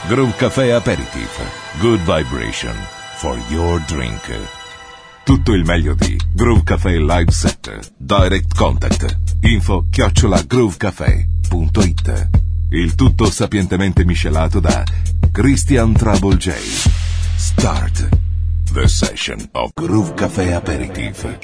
Groove Café Aperitif. Good vibration for your drink. Tutto il meglio di Groove Café Live Set. Direct Contact. info@groovecafé.it. Il tutto sapientemente miscelato da Christian Trouble J. Start the session of Groove Café Aperitif.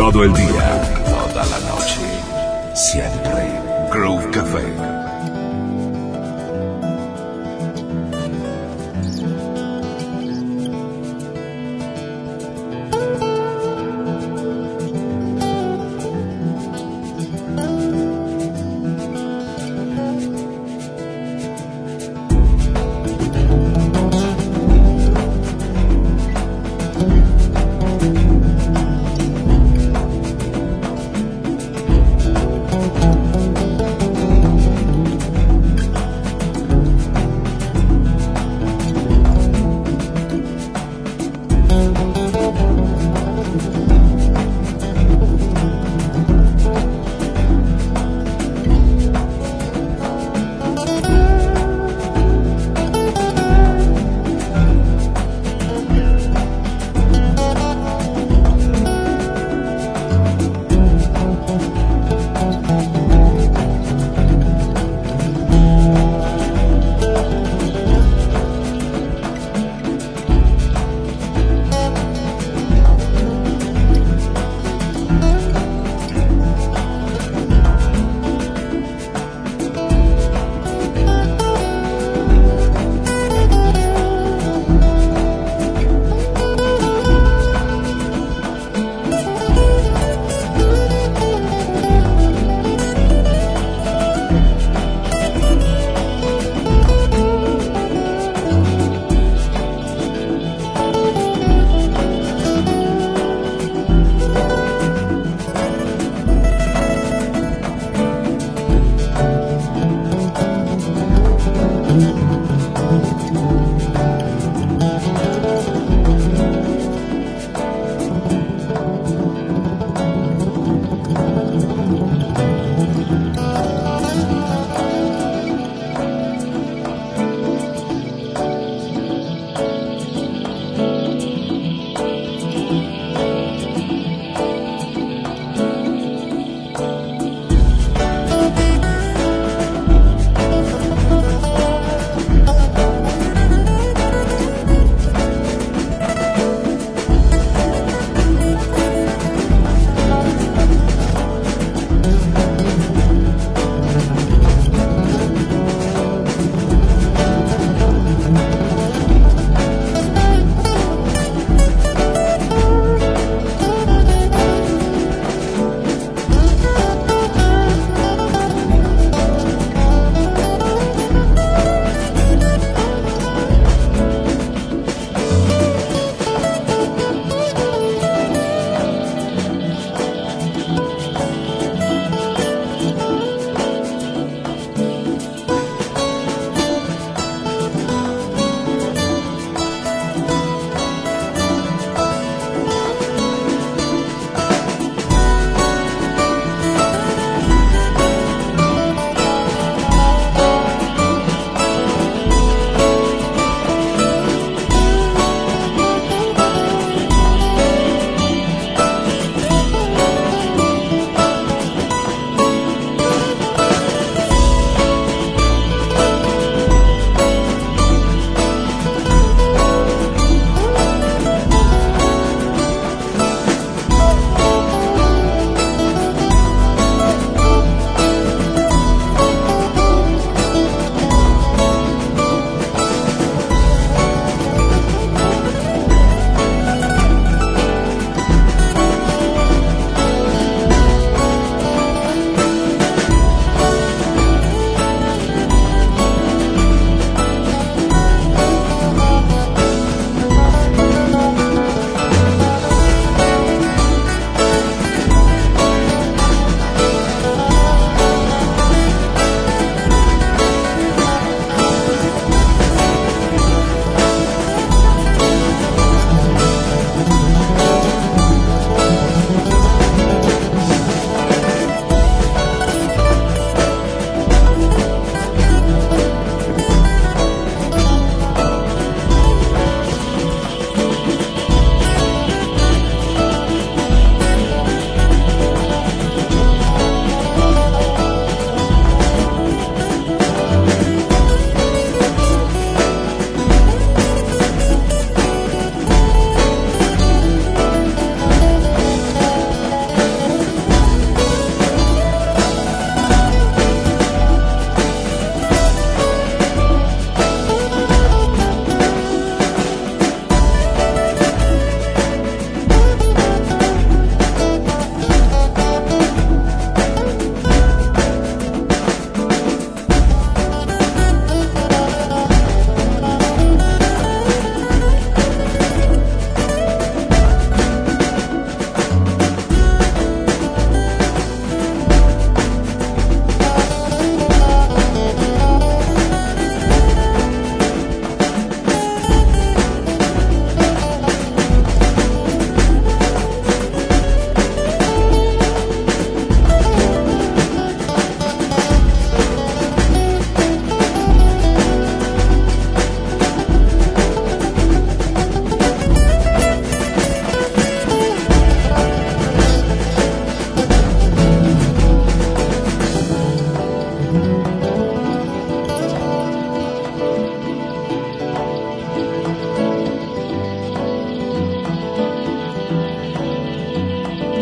todo el día, toda la noche. Siempre Groove Café.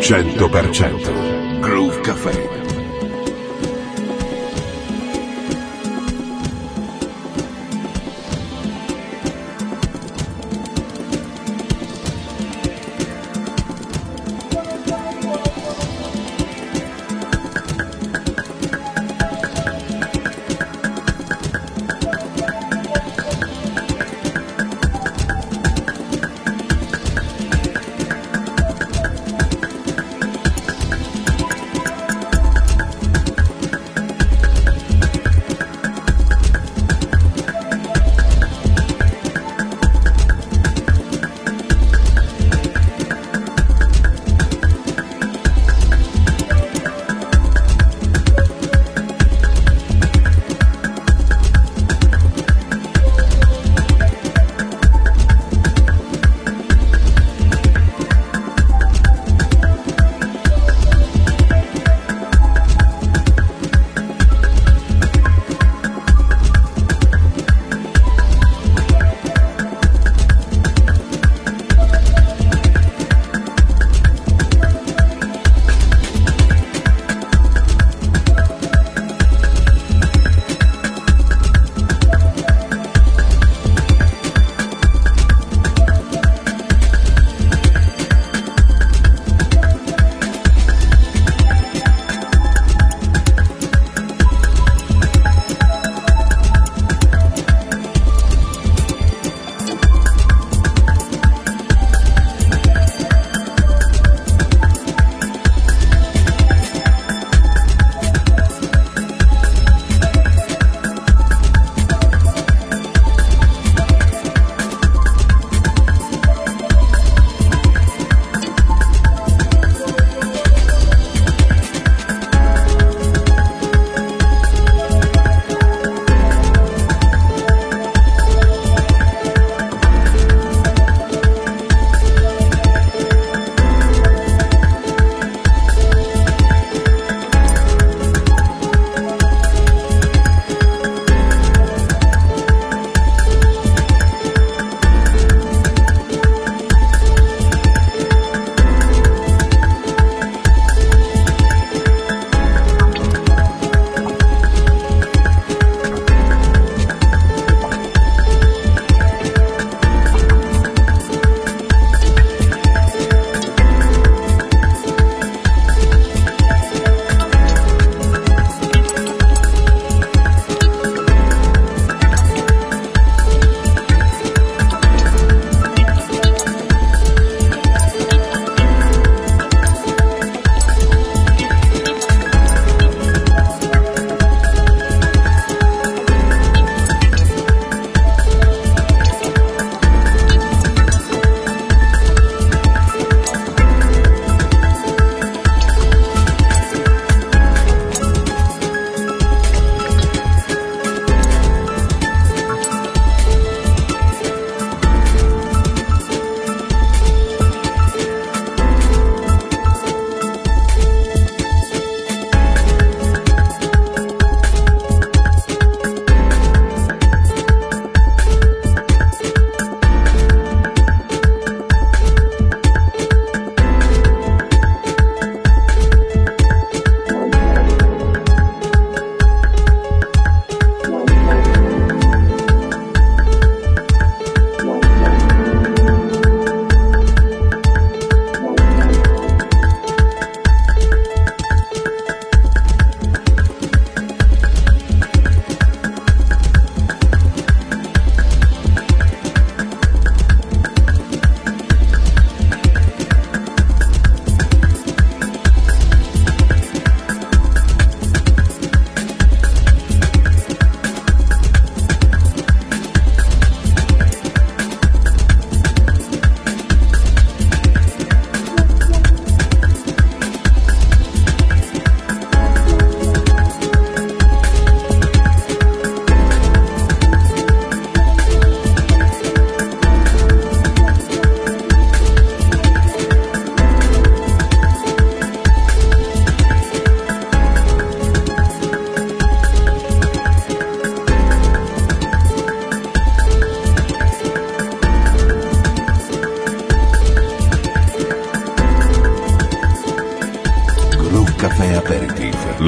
100% Groove Café.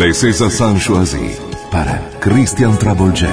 Les César Sanchoisi para Christian Trouble J.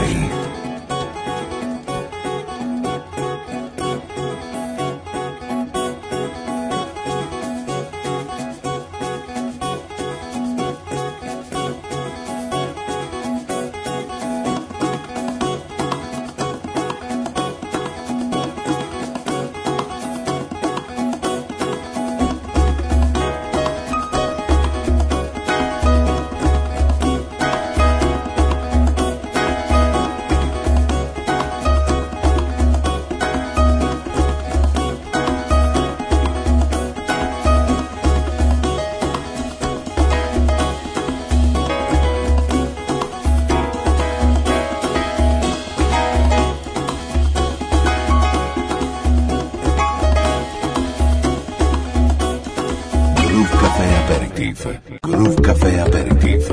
Groove Café Aperitif.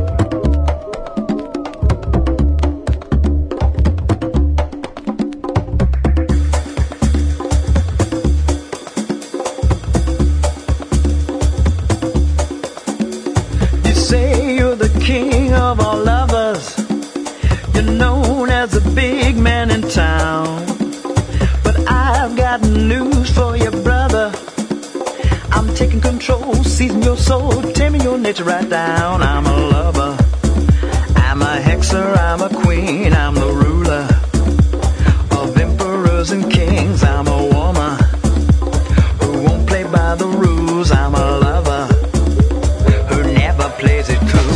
You say you're the king of all lovers. You're known as the big man in town. But I've got news for you, brother. I'm taking control, seizing your soul, taming your nature right down. I'm a lover, I'm a hexer, I'm a queen, I'm the ruler of emperors and kings. I'm a woman who won't play by the rules. I'm a lover who never plays it cool.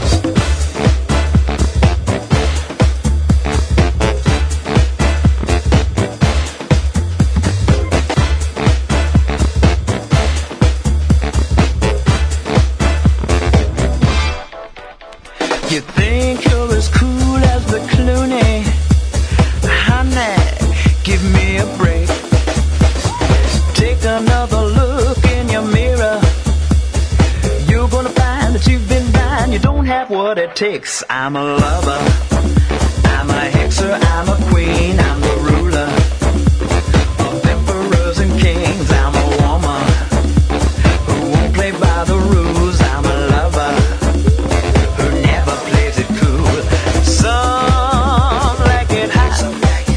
You think you're as cool as the Clooney? Honey, give me a break. Take another look in your mirror. You're gonna find that you've been blind. You don't have what it takes. I'm a lover, I'm a hexer, I'm a queen, I'm the ruler of emperors and kings. I'm a woman who won't play by the rules. I'm a lover who never plays it cool. Some like it hot, some like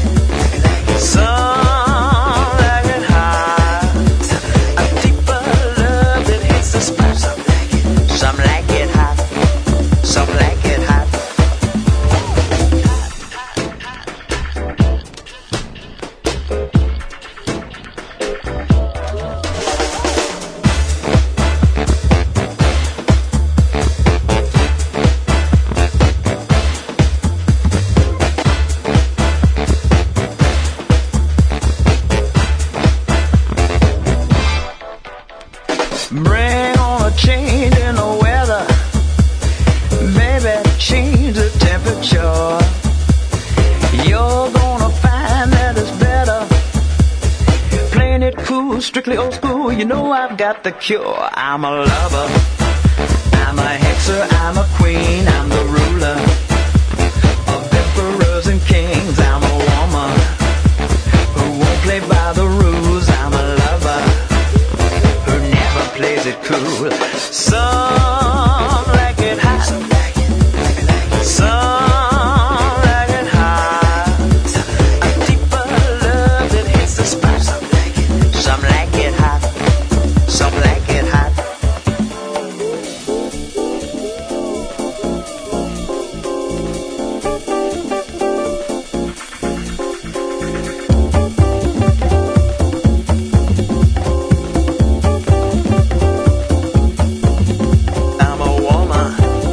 it hot. A deeper love that hits the spot. Some like it hot, some like it hot. Bring on a change in the weather, baby, change the temperature. You're gonna find that it's better playing it cool, strictly old school. You know I've got the cure. I'm a lover, I'm a hexer, I'm a queen, I'm the ruler of emperors and kings. I'm a woman who won't play by the rules. I'm a lover who never plays it cool. Some like it hot, some like it hot. A deeper love that hits the spot. Some like it hot, some like it hot. I'm a woman,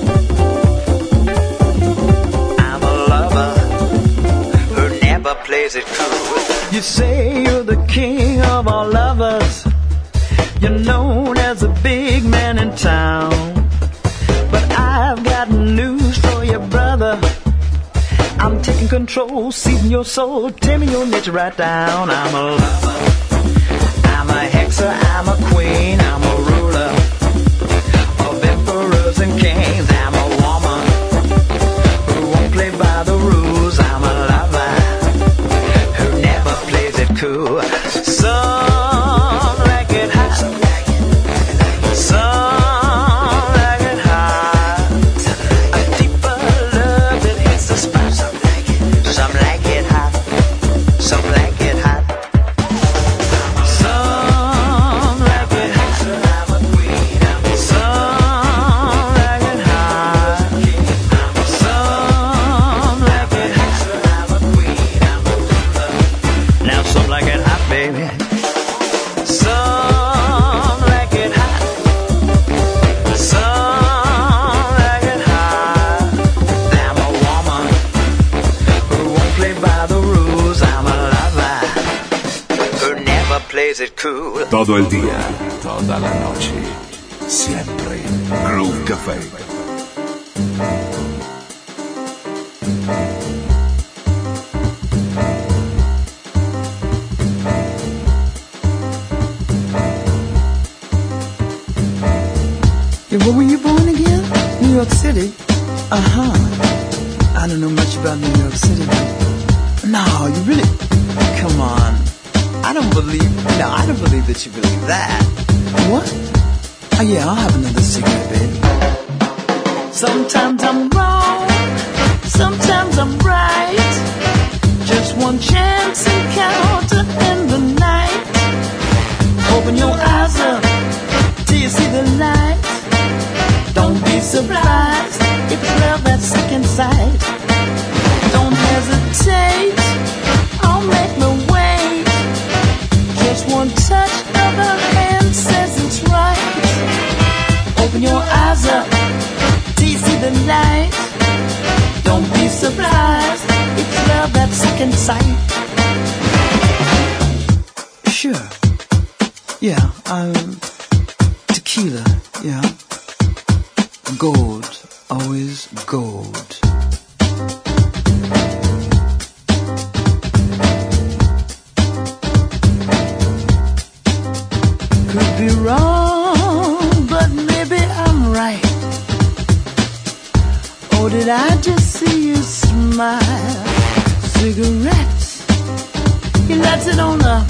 I'm a lover who never plays it cool. You say you're the king of all lovers. You're known as the big man in town. But I've got news for you, brother. I'm taking control, seizing your soul, taming your nature right down. I'm a lover, I'm a hexer, I'm a queen, I'm a ruler of emperors and kings. I'm a woman who won't play by the rules. I'm a lover who never plays it cool. Some like it hot, some like it hot. cool. Todo el día, toda la noche, siempre Groove Café. Yeah, where were you born again? New York City? Uh-huh. I don't know much about New York City. No, you really... Come on. I don't believe that you believe that. What? Oh, yeah, I'll have another cigarette, baby. Sometimes I'm wrong. Sometimes I'm right. Just one chance encounter in the night. Open your eyes up till you see the light. Don't be surprised if it's love at second sight. Don't hesitate, I'll make my way. Just one touch of her hand says it's right. Open your eyes up till you see the light. Don't be surprised if it's love at second sight. Sure, yeah, tequila, yeah. Gold, always gold. Could be wrong, but maybe I'm right. Or did I just see you smile? Cigarettes, he lights it on up.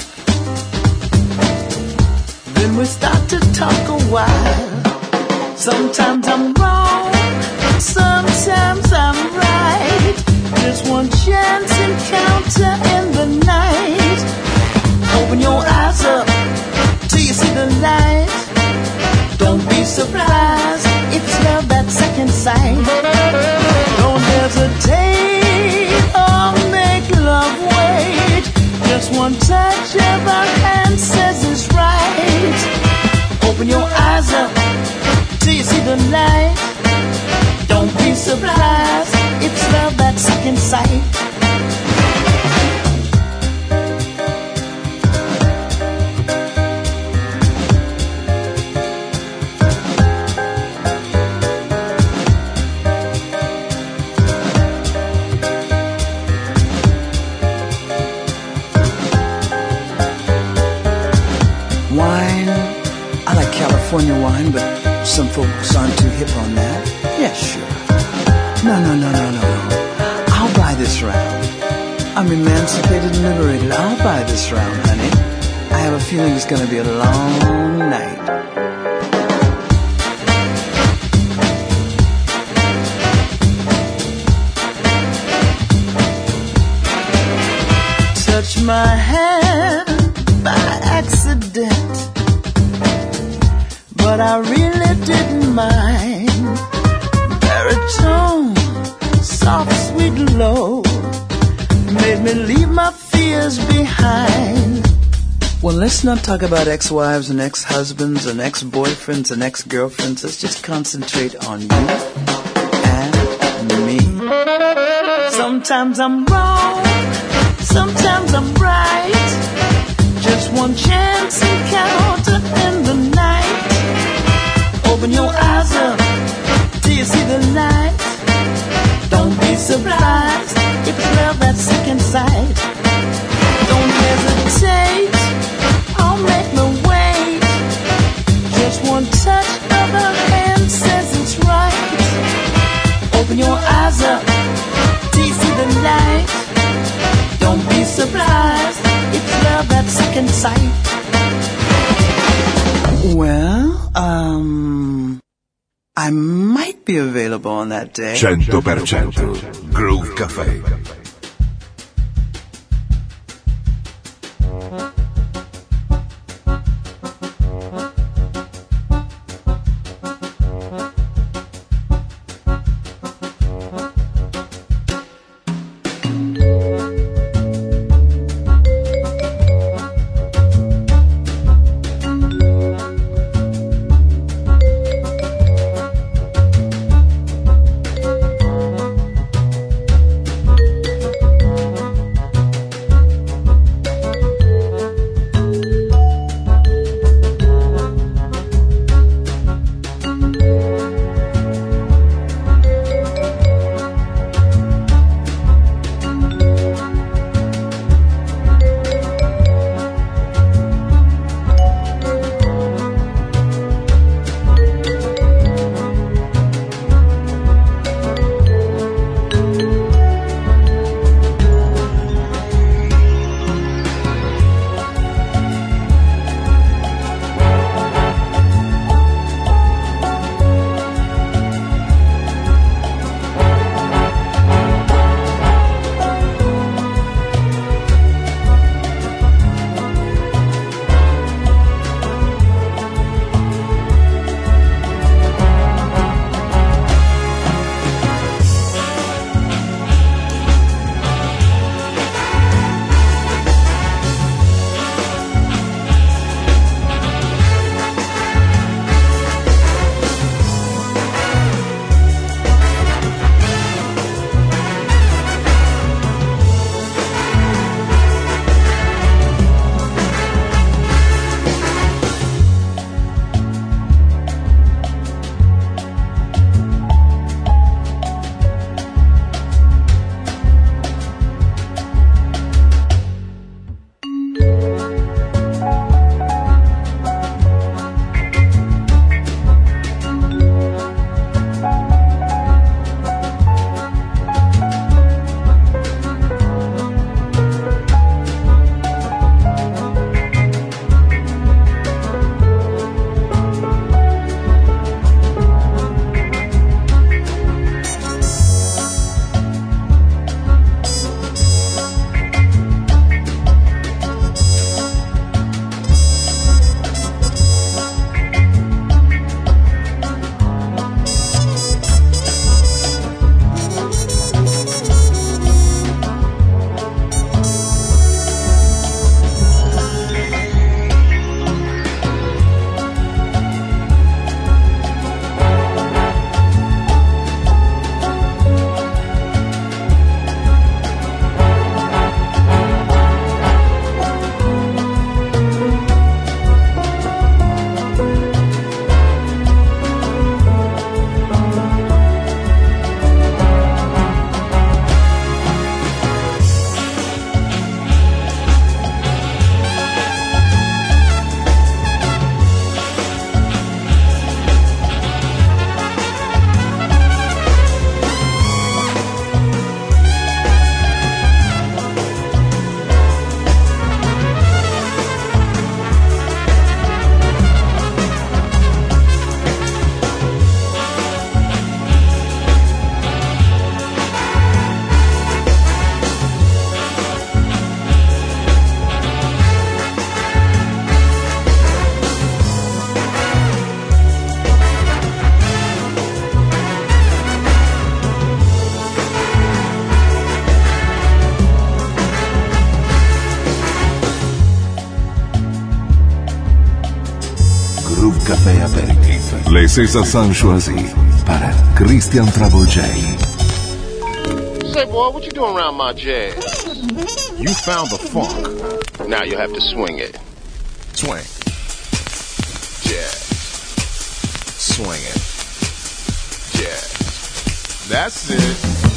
Then we start to talk a while. Sometimes I'm wrong, sometimes I'm right. Just one chance encounter in the night. Open your eyes up till you see the light. Don't be surprised if it's love at second sight. Don't hesitate or make love wait. Just one touch of our hand says it's right. Open your eyes up till you see the light. Don't be surprised, it's love at second sight. Wine, I like California wine, but some folks aren't too hip on that. Yeah, sure. No. I'll buy this round. I'm emancipated and liberated. I'll buy this round, honey. I have a feeling it's gonna be a long night. Touch my hand by accident, but I really didn't mind. Baritone, soft, sweet, low, made me leave my fears behind. Well, let's not talk about ex-wives and ex-husbands and ex-boyfriends and ex-girlfriends. Let's just concentrate on you and me. Sometimes I'm wrong, sometimes I'm right. Just one chance encounter in the night. Open your eyes up till you see the light. Don't be surprised if it's love at second sight. Don't hesitate, I'll make my way. Just one touch of her hand says it's right. Open your eyes up till you see the light. Don't be surprised, it's love at second sight. Well, I might be available on that day. 100% Groove Café. Café Aperitif. Les Césars choisis par Christian Trouble J. Say, boy, what you doing around my jazz? You found the funk. Now you have to swing it. Swing. Jazz. Swing it. Jazz. That's it.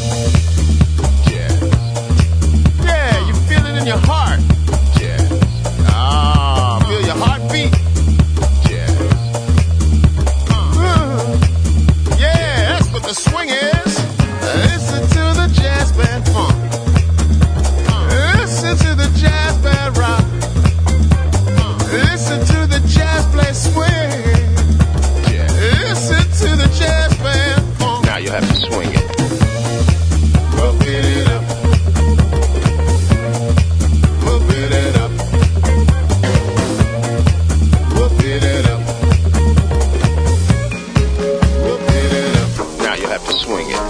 Jazz. Yeah, you feel it in your heart. Jazz. Ah, feel your heartbeat. Jazz. Yeah, that's what the swing is. Listen to the jazz band funk. Listen to the jazz band rock. Listen to the jazz play swing. Listen to the jazz band funk. Now you have to swing it. We'll beat it up. We'll beat it up. We'll beat it up. We'll beat it up. Now you have to swing it.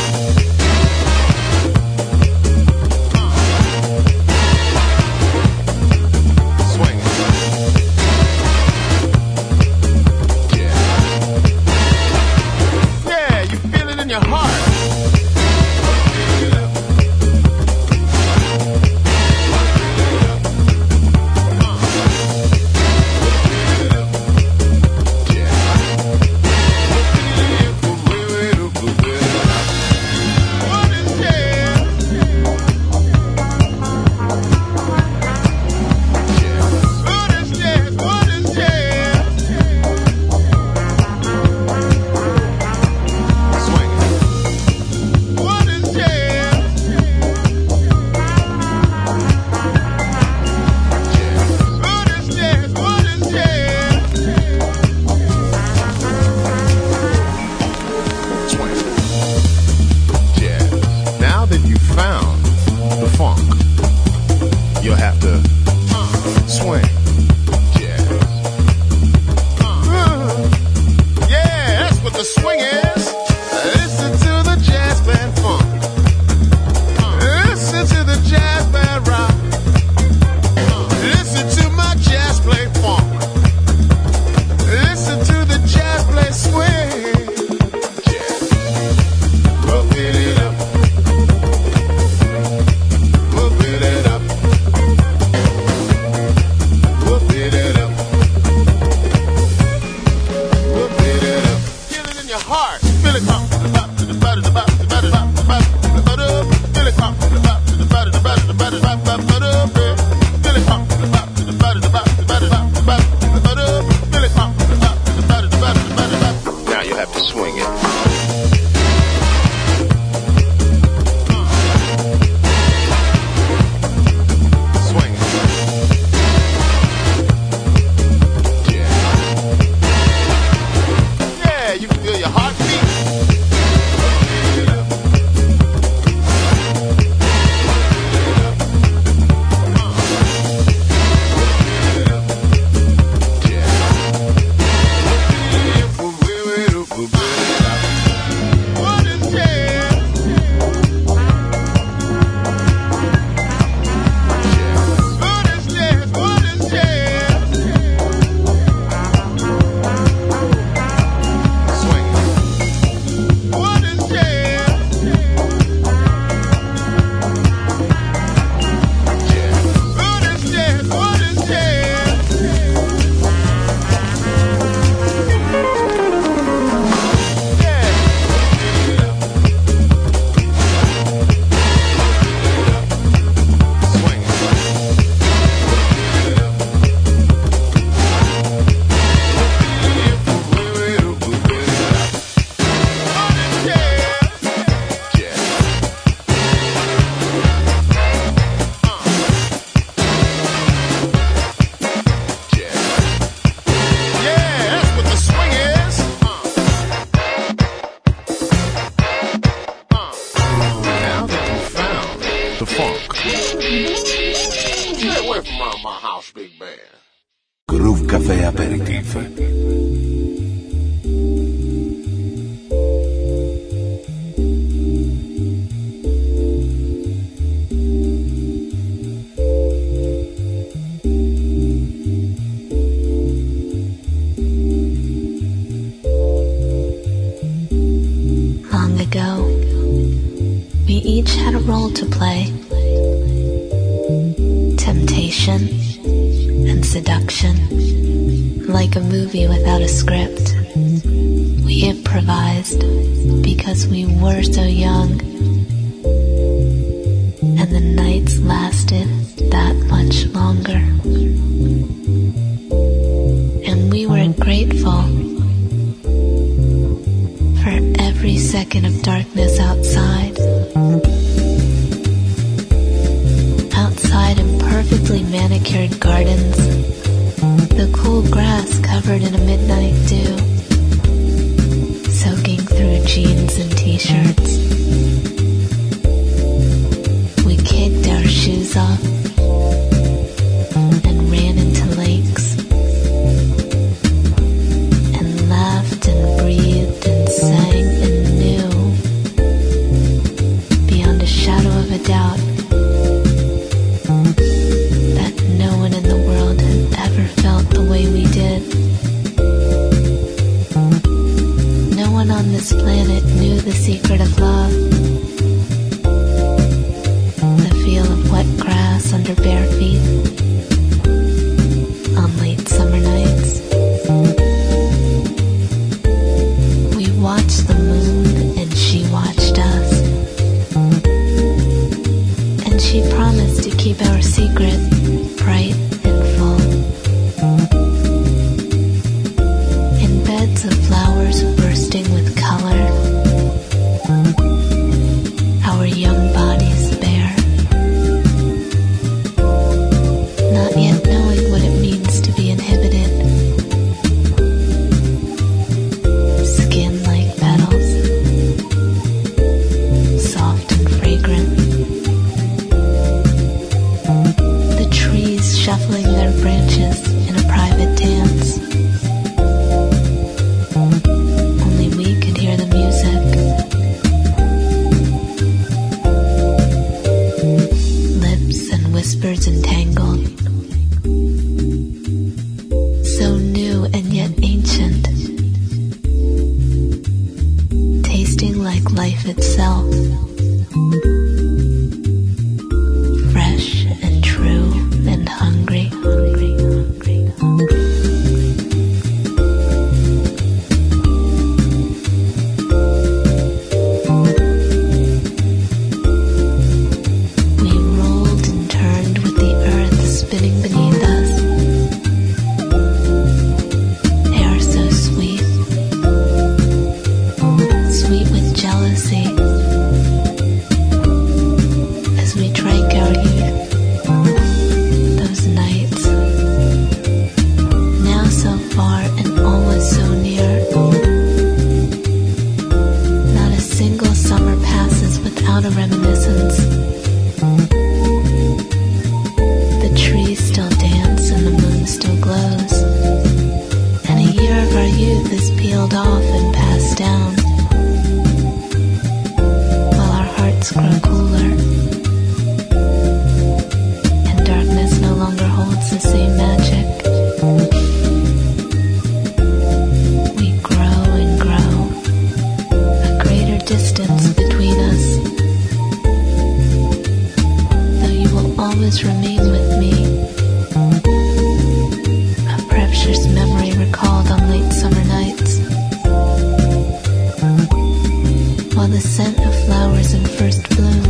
Groove Café Aperitif. had a role to play. Temptation and seduction. Like a movie without a script. We improvised because we were so young. And the nights lasted that much longer. And we were grateful for every second of darkness outside. Outside in perfectly manicured gardens, the cool grass covered in a midnight dew, soaking through jeans and t-shirts. We kicked our shoes off and ran into lakes and laughed and breathed and sang and knew beyond a shadow of a doubt that no one in the world had ever felt the way we did. No one on this planet knew the secret of love. The feel of wet grass under bare feet on late summer nights. We watched the moon and she watched us. And she promised to keep our secret bright and full. In beds of flowers bursting with color, our young bodies bare, not yet knowing what it means to be inhibited. Skin like petals, soft and fragrant. The trees shuffling their branches in a private dance. Only we could hear the music. Lips and whispers entangled. So new and yet ancient. Tasting like life itself. Fresh and true and hungry. We rolled and turned with the earth spinning beneath us. Air so sweet, sweet with jealousy. As we drank our youth, those nights, now so far and always so near. Not a single summer passes without a reminiscence. The trees still dance and the moon still glows. And a year of our youth is peeled off and passed down. While our hearts grow cooler. And darkness no longer holds the same magic. We grow and grow. A greater distance between us. Though you will always remain with me. A precious memory recalled on late summer nights. While the scent of flowers in first bloom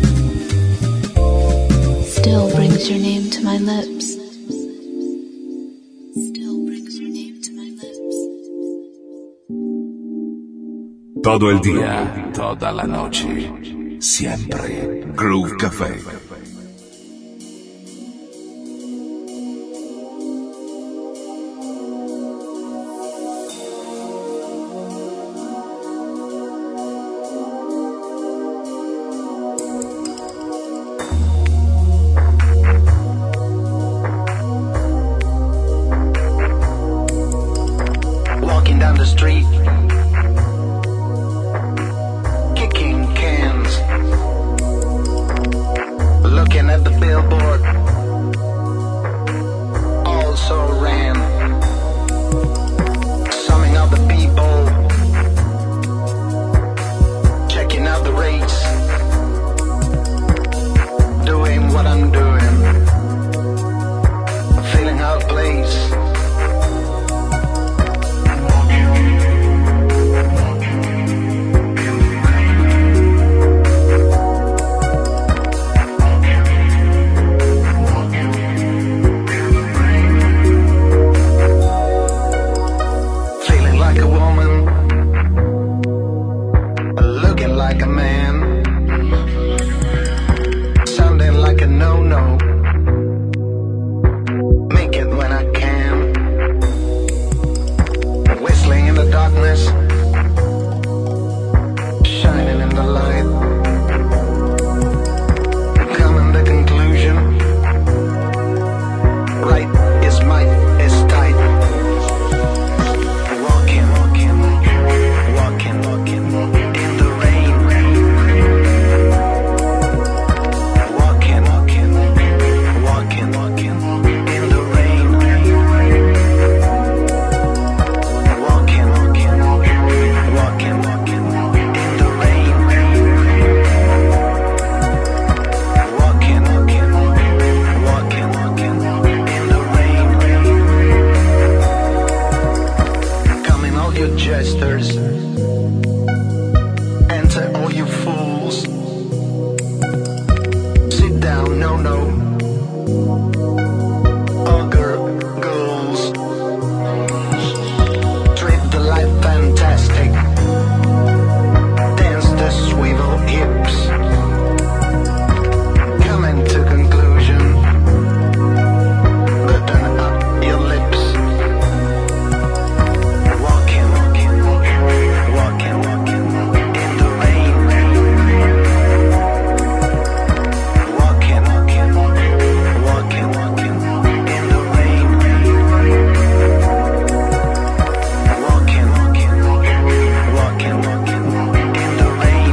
still brings your name to my lips. Still brings your name to my lips. Todo el día, toda la noche, siempre Groove Café. Walking down the street, kicking cans, no, no. Make it when I can. Whistling in the darkness, shining in the light. Come in the conclusion. Right is might is tight. Walking, walking, walking, walking in the rain. Walking, walking, walking, walking in the rain. Walking, walking, walking, walking in the rain. Walking, walking, walking, walking in the rain. Coming all you jesters, enter all you fools. Sit down, no, no. Ogre ghouls. Treat the life fantastic. Dance the swivel hips. Coming to conclusion. Button up your lips. Walking, walking, walking, walking in the rain. Walking, walking, walking, walking in the rain. Walking, walking, walking, walking in the rain.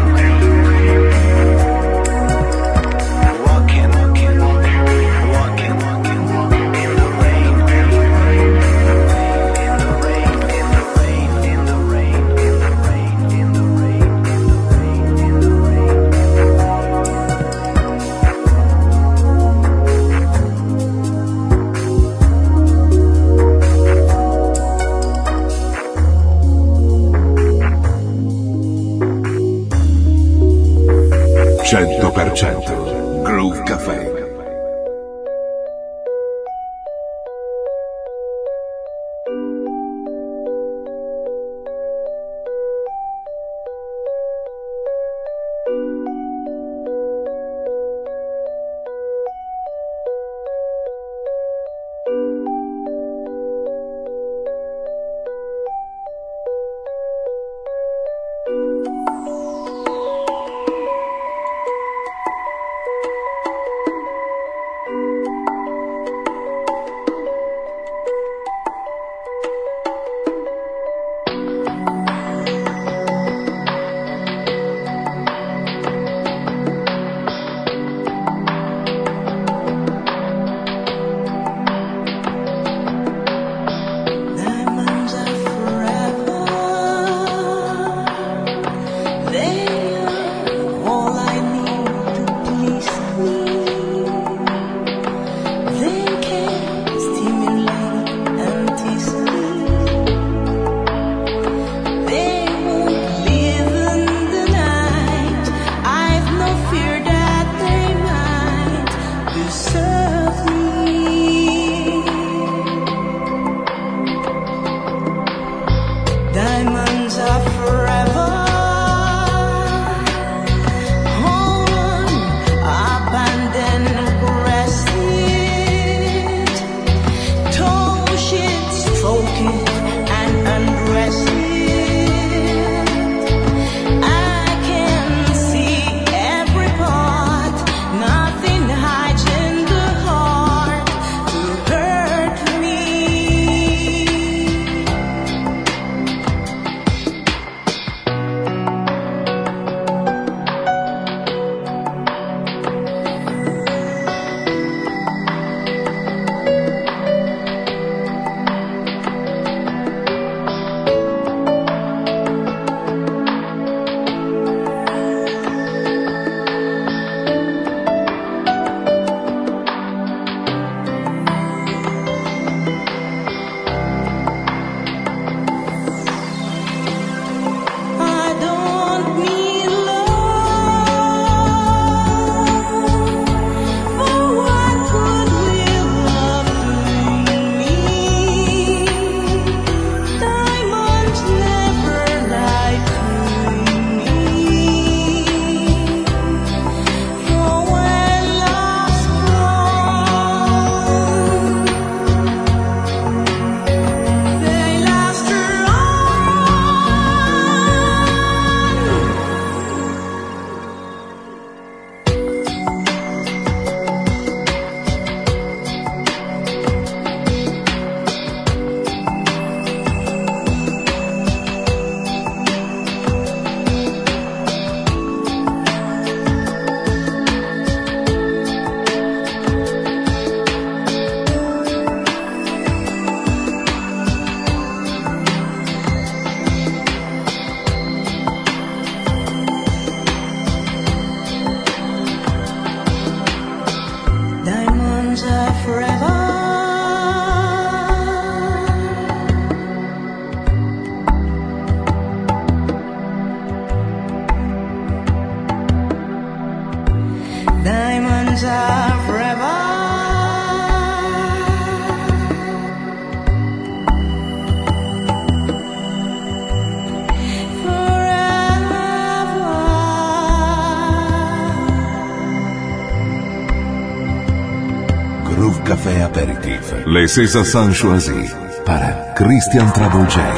Walking, walking, walking, walking in the rain. In the rain, in the rain, in the rain, in the rain, in the rain, in the rain, in the rain. 100% Groove Café. hands are forever. Groove Café Aperitif. Les César Sans Choisis para Christian Trouble J.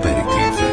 Aperitif.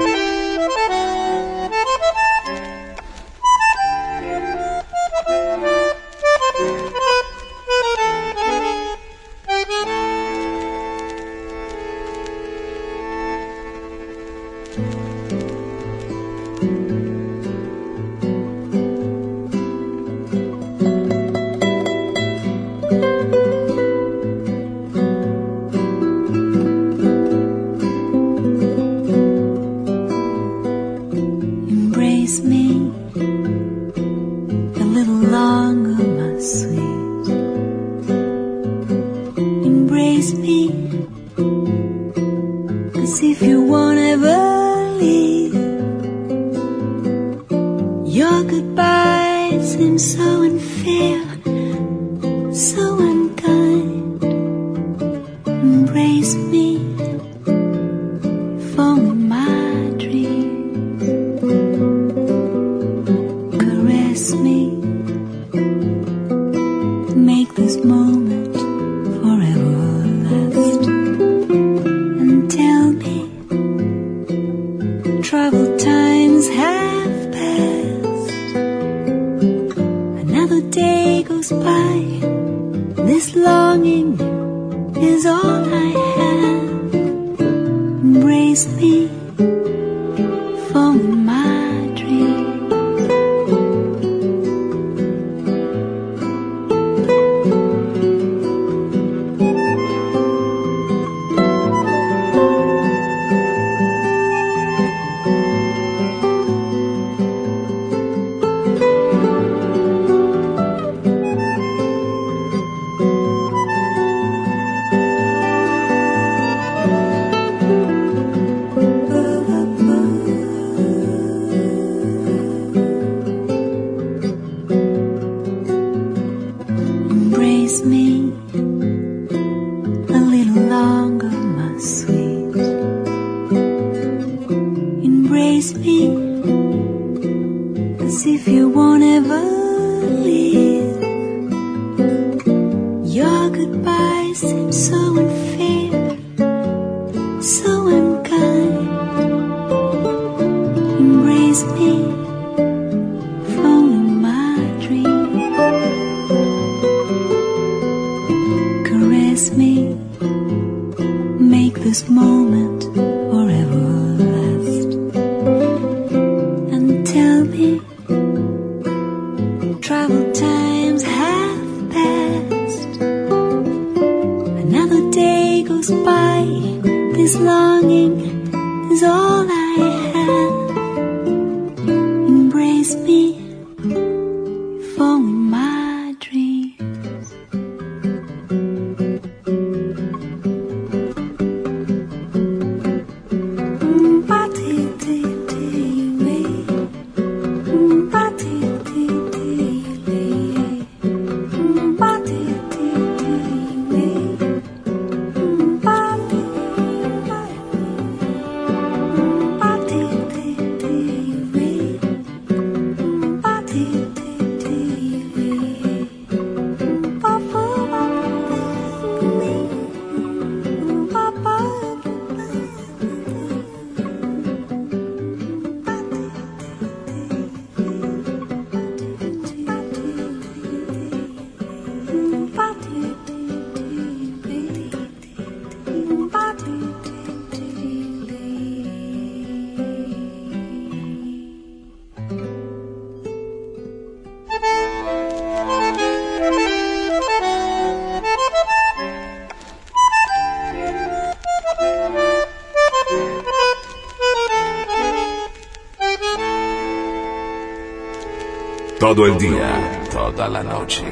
Todo el día, toda la noche,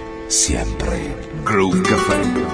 siempre Groove Café.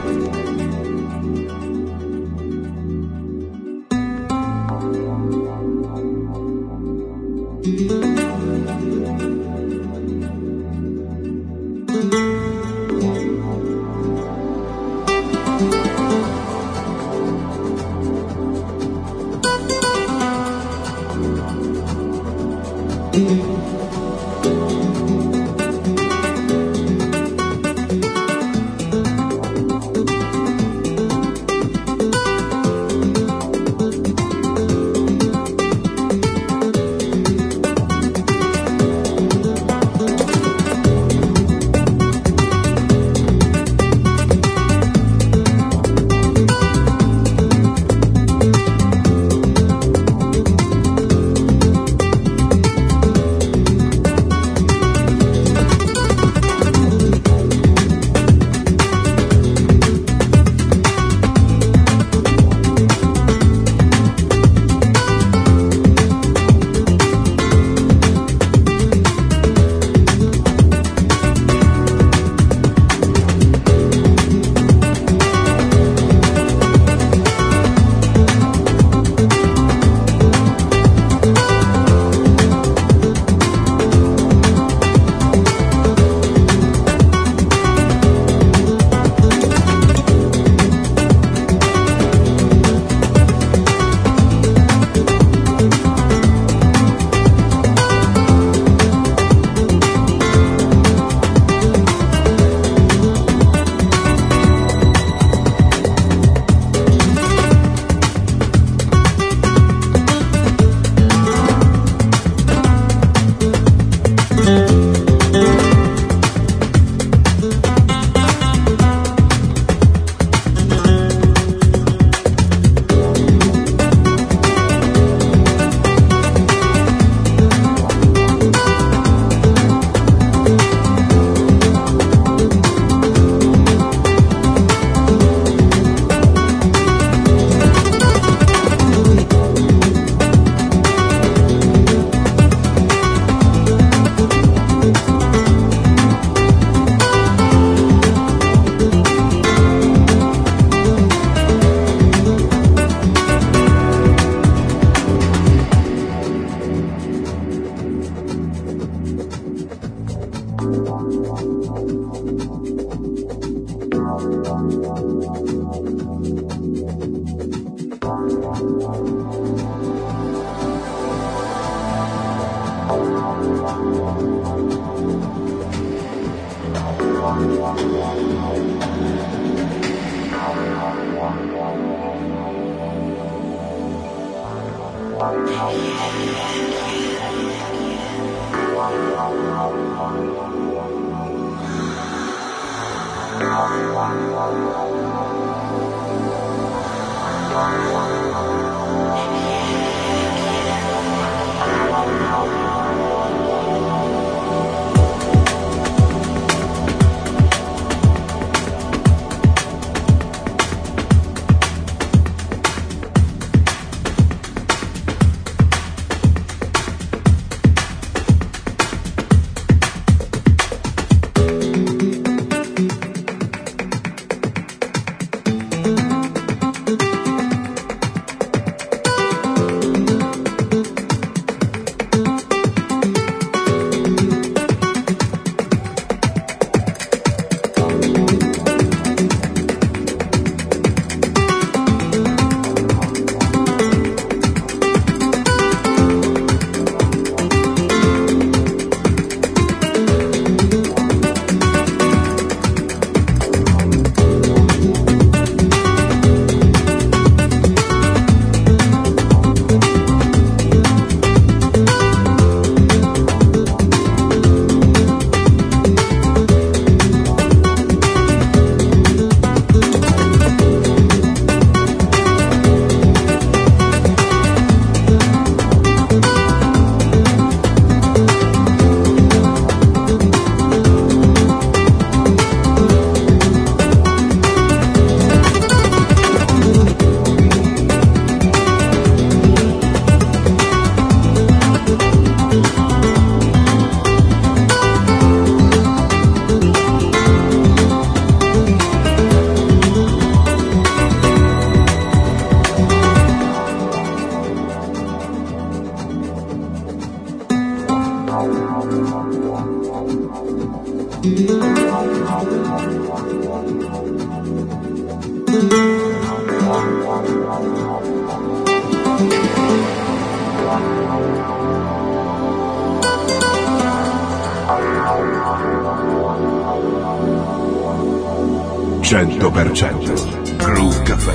Groove Café.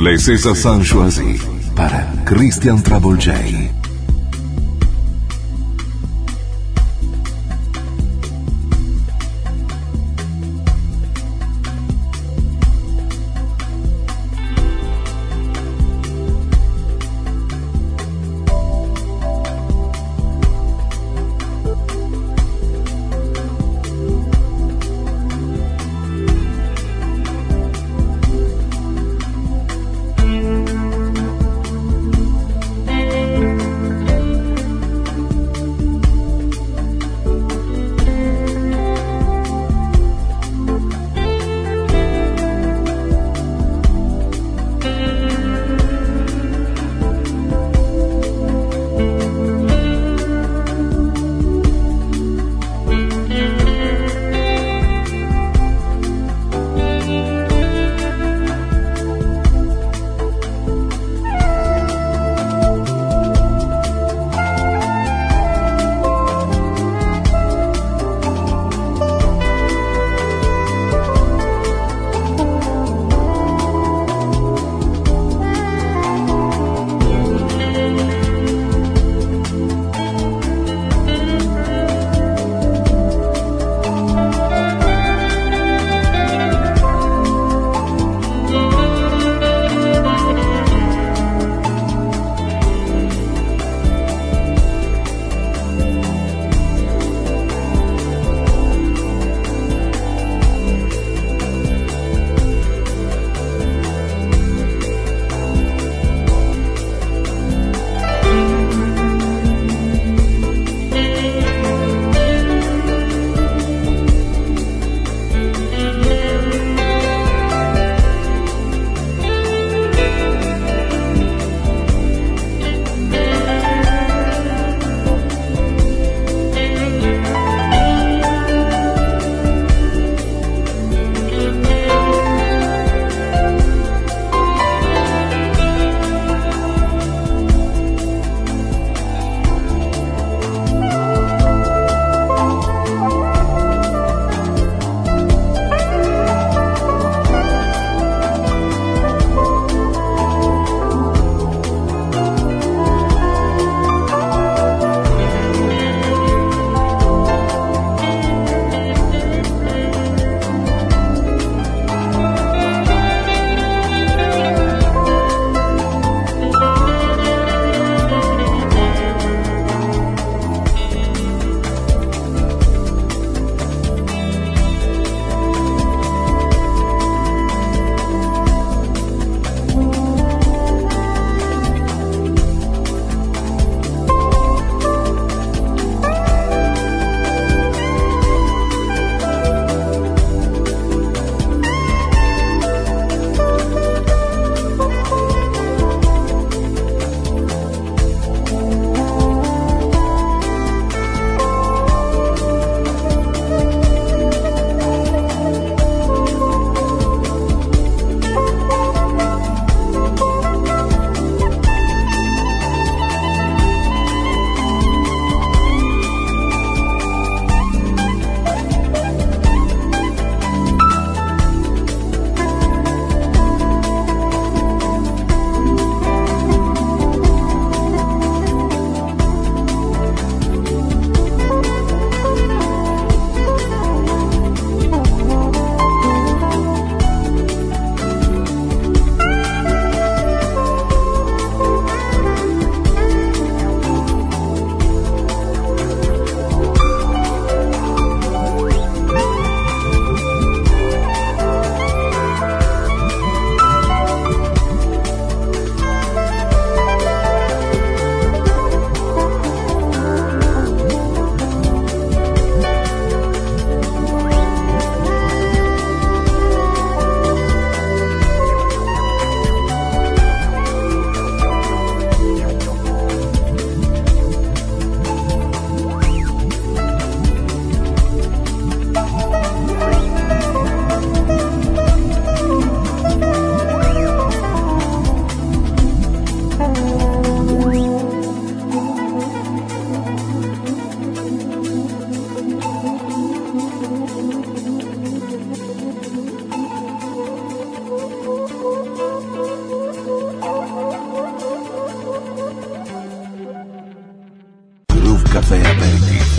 Les César San Choisi para Christian Trouble J. Café Aperitif.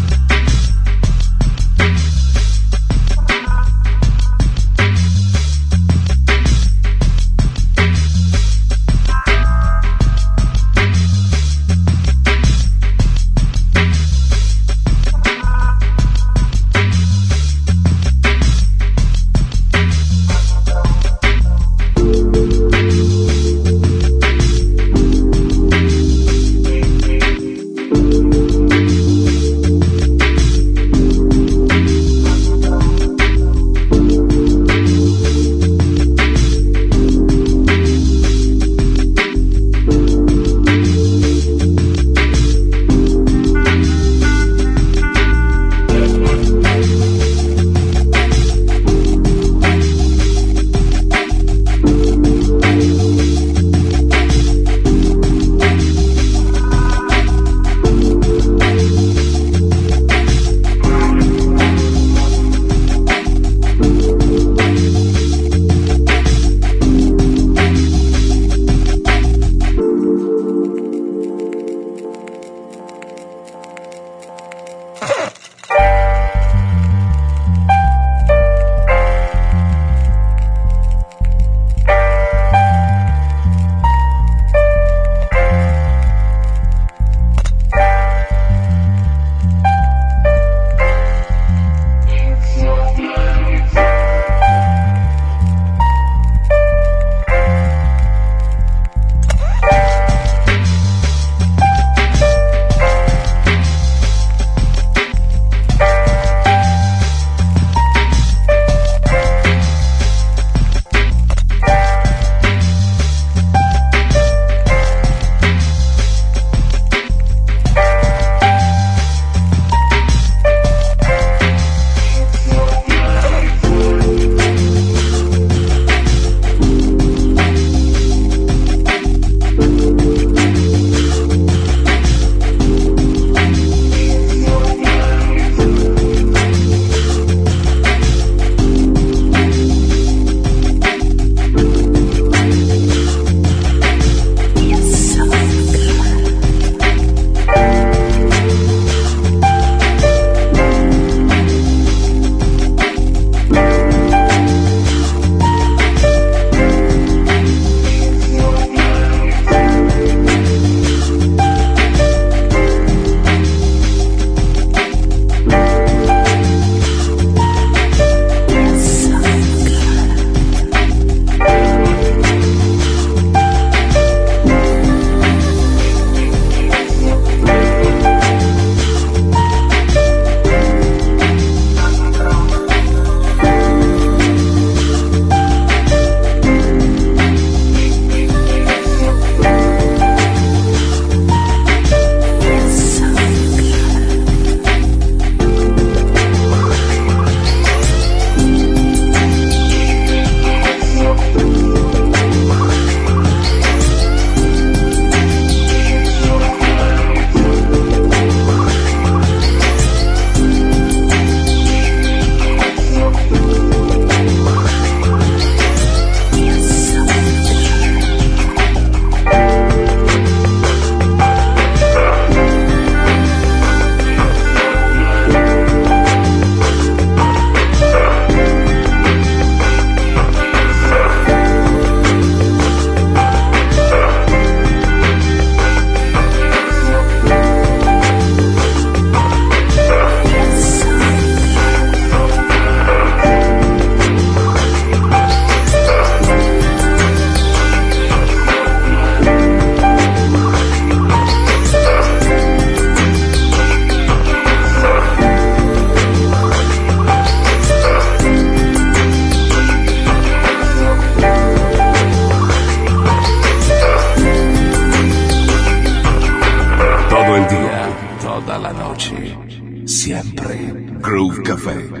Siempre Groove Café.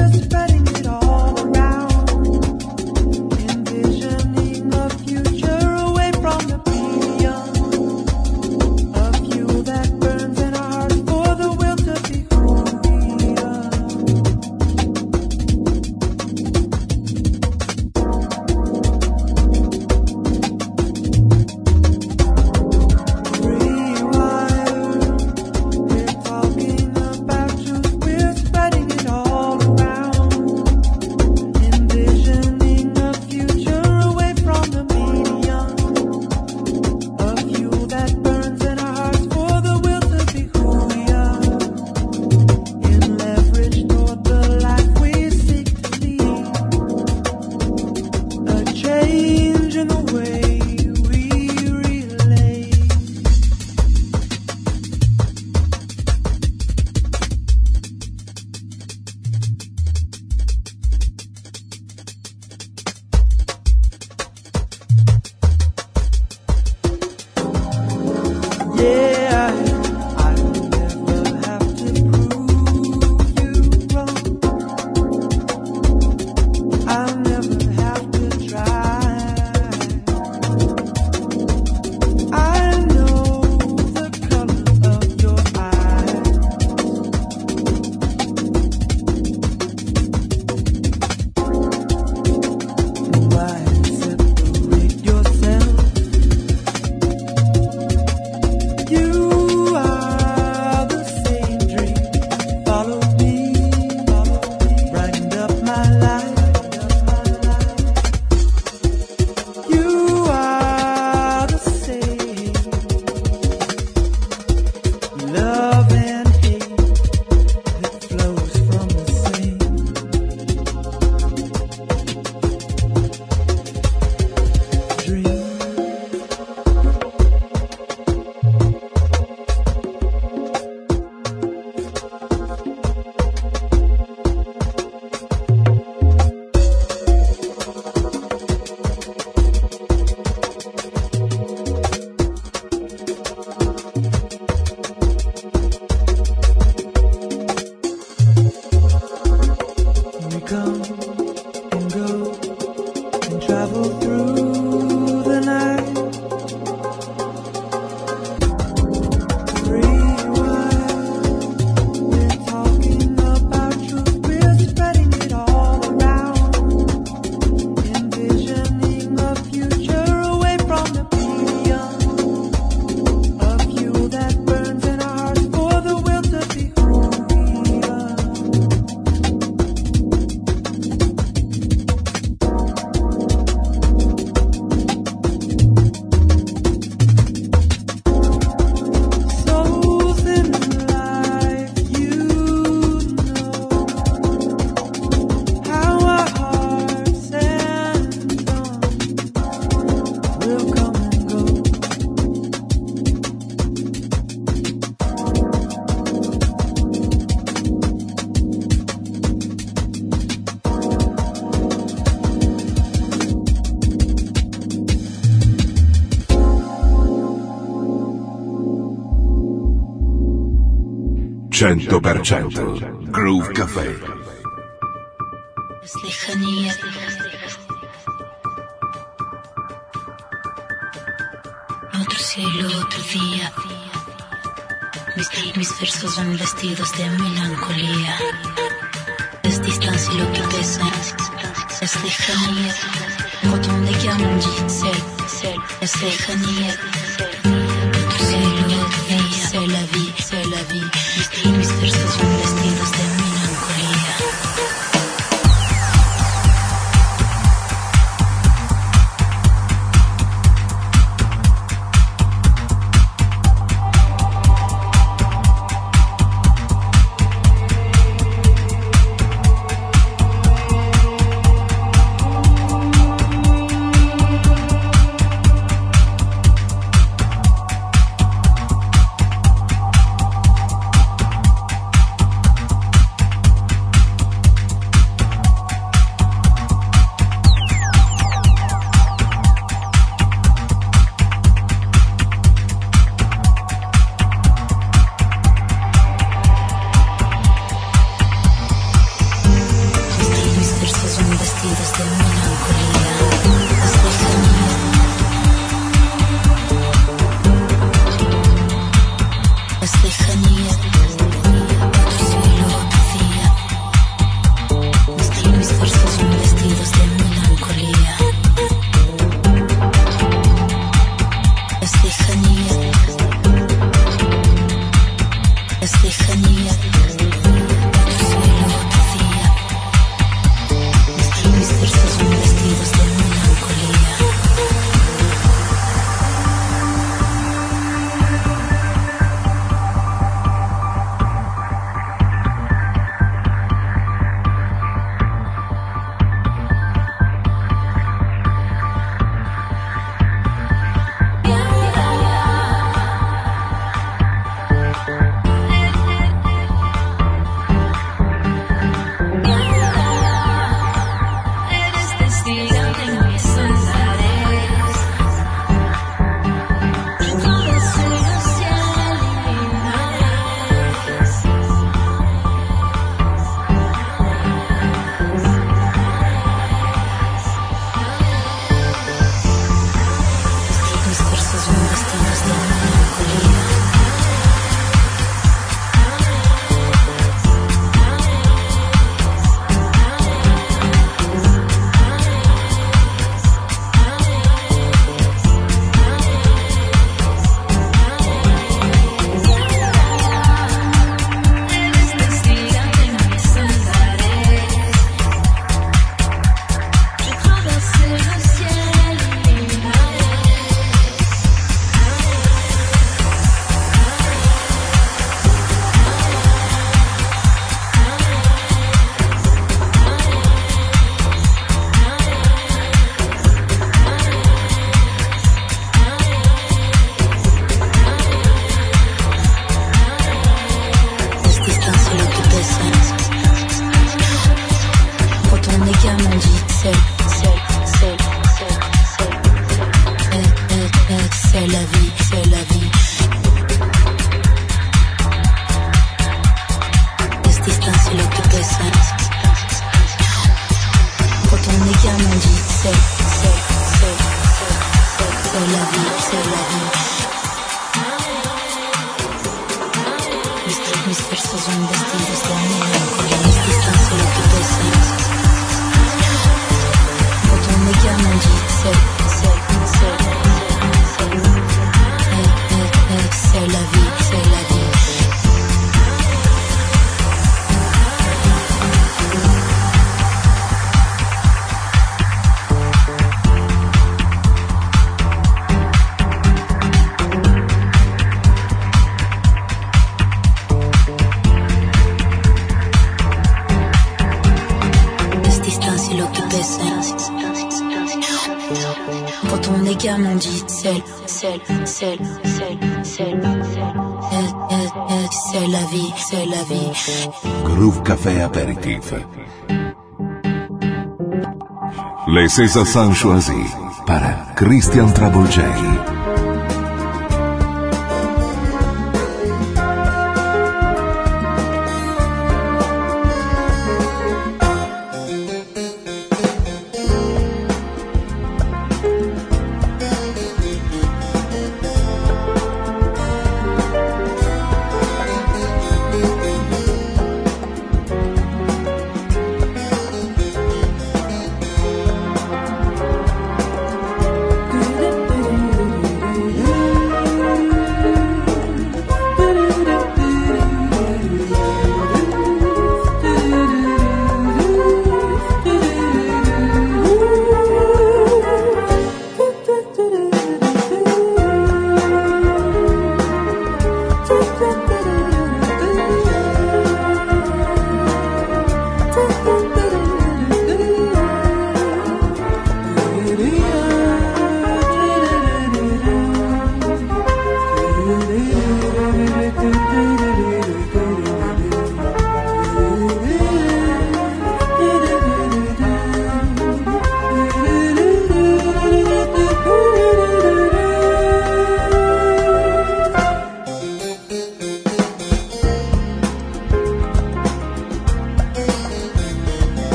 Future and go and travel through the night. Groove Café. Lejanía. Otro cielo, otro día. Mis versos van vestidos de melancolía. Es distancia lo que pesa. Es lejanía. Quand de llaman es lejanía. Otro cielo, otro día. C'est la vie, c'est la vie. Mis versos van vestidos de melancolía. Mis versos son vestidos de melancolía. la vie, c'est la vie. Mis versos son vestidos de melancolía, mis distancias lo que pesan. Quand on me garde, on dit c'est la vie, c'est la vie. Quand on est gamin, on dit c'est la vie, c'est la vie. Groove Café Aperitif. Les César sont choisis par Christian Trouble J.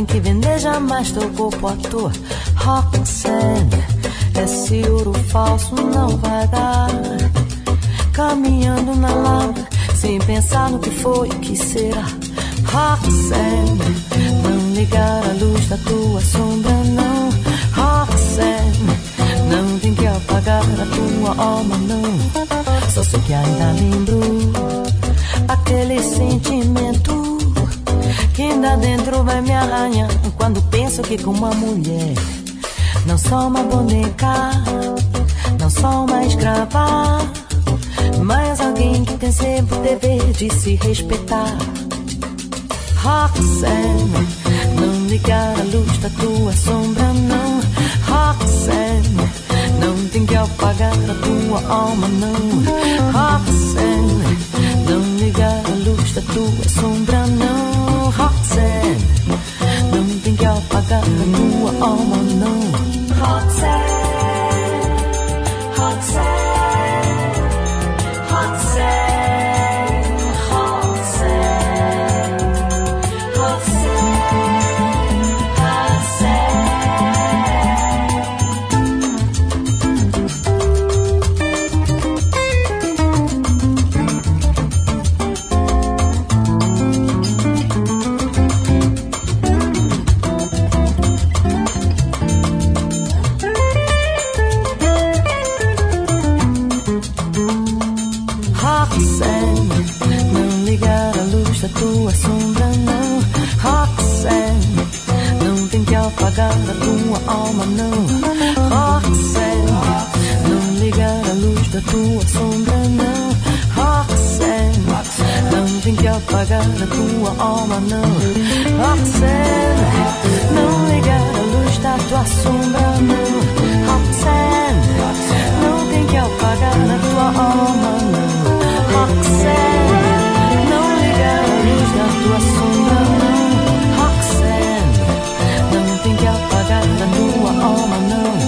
que vender jamais teu corpo à toa. Roxanne, esse ouro falso não vai dar. Caminhando na lama, sem pensar no que foi e o que será. Roxanne, não ligar a luz da tua sombra, não. Roxanne, não tem que apagar a tua alma, não. Só sei que ainda lembro aquele sentimento que ainda dentro vai me arranhar quando penso que com uma mulher não sou uma boneca, não sou uma escrava, mas alguém que tem sempre o dever de se respeitar. Roxanne, não ligar a luz da tua sombra, não. Roxanne, não tem que apagar a tua alma, não. Roxanne, não ligar a luz da tua sombra, não. Roxanne, não tem que apagar a tua alma, não. Roxanne, Roxanne, Roxanne, Roxanne, Roxanne, tua sombra, não. Roxanne, não tem que apagar a tua alma, não. Roxanne, não ligar a luz da tua sombra, não. Roxanne, não tem que apagar a tua alma, não. Roxanne, não ligar a luz da tua sombra, não. Roxanne, não tem que apagar a tua alma, não. Roxanne, da tua sombra, não. Roxanne, não tem que apagar da tua alma, não.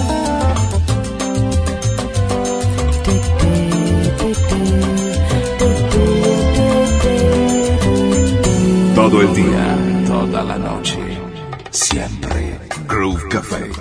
Todo el día, toda la noche, siempre Groove Café.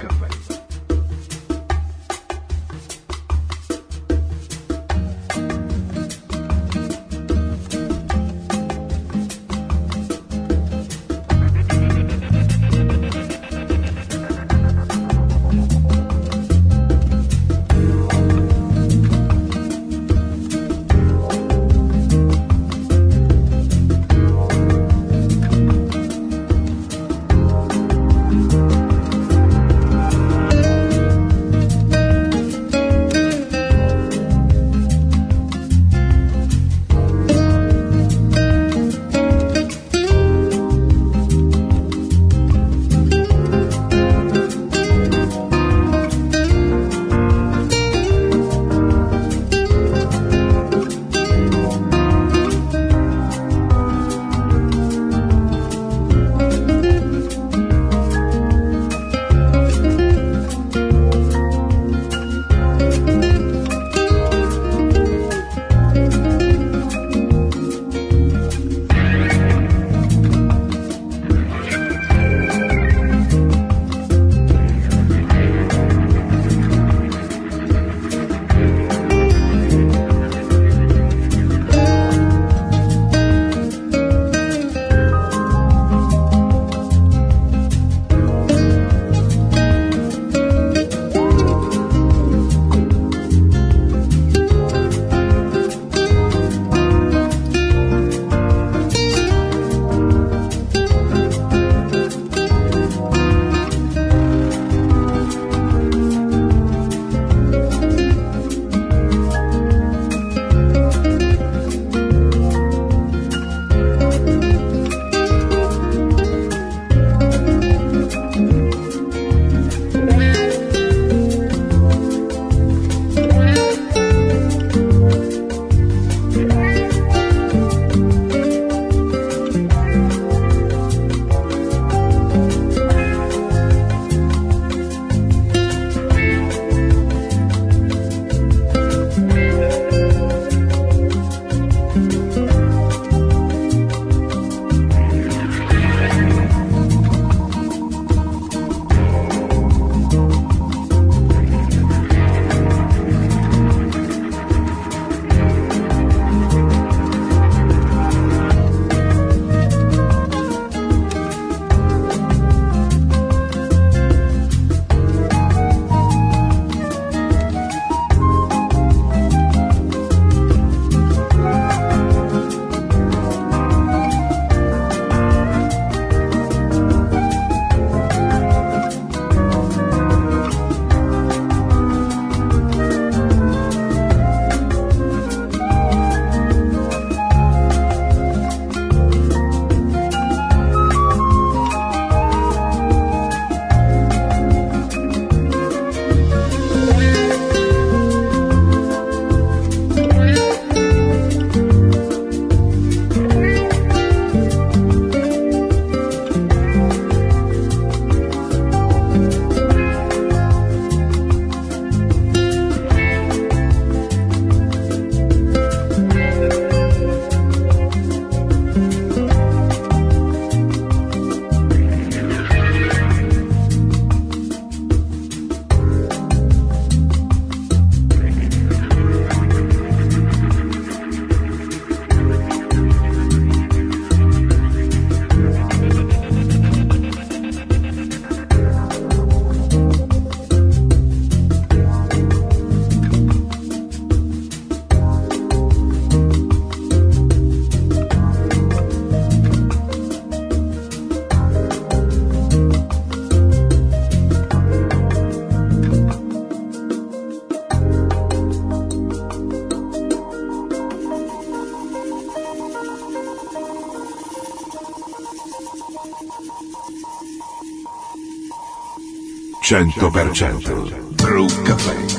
100% Groove Café.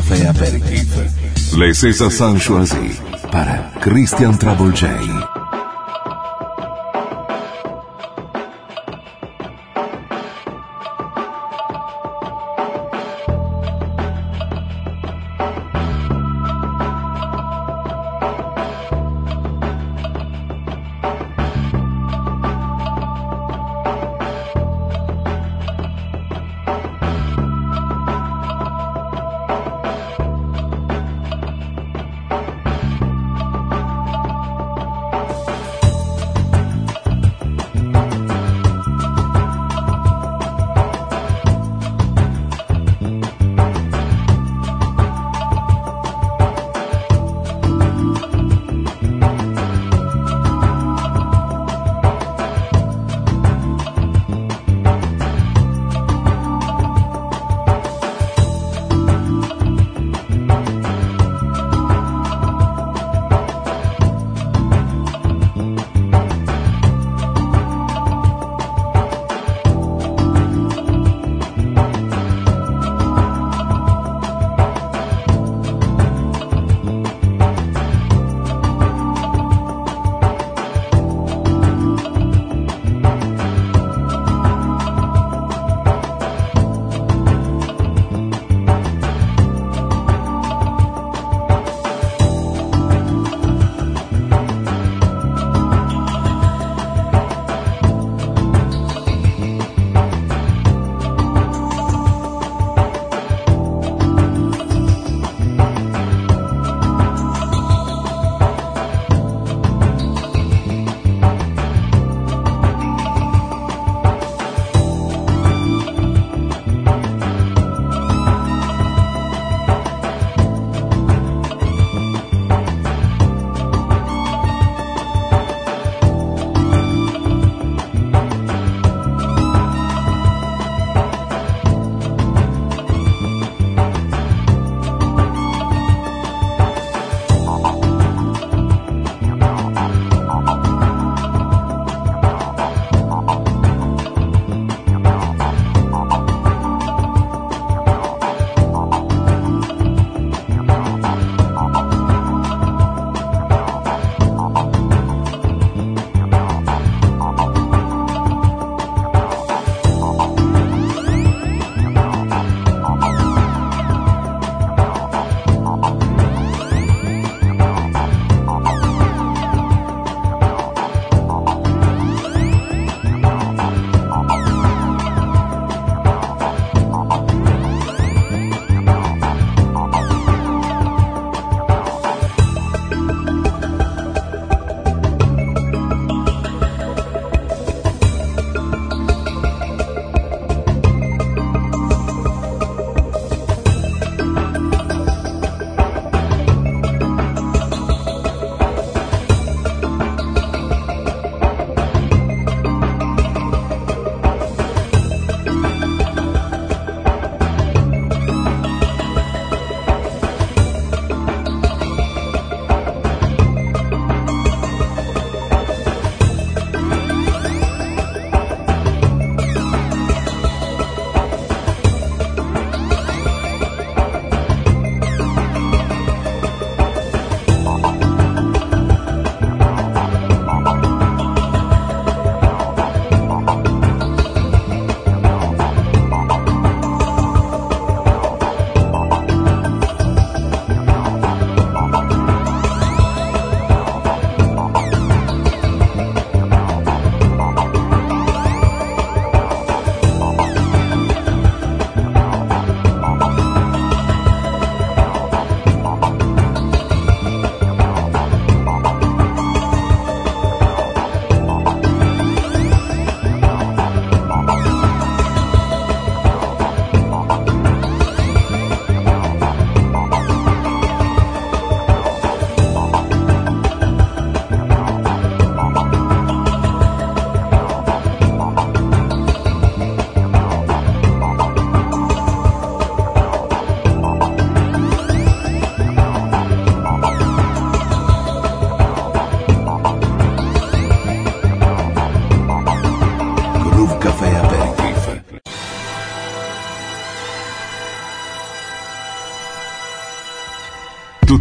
Café Apéritif. Les César sont choisis par Christian Trouble J.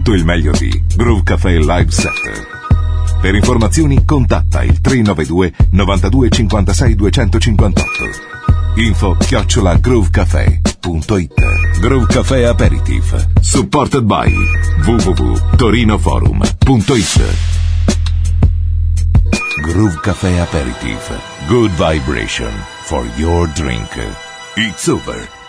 tutto il meglio di Groove Café Live Set. Per informazioni contatta il 392 92 56 258. info@groovecafé.it. Groove Café Aperitif, supported by www.torinoforum.it. Groove Café Aperitif, good vibration for your drink. It's over.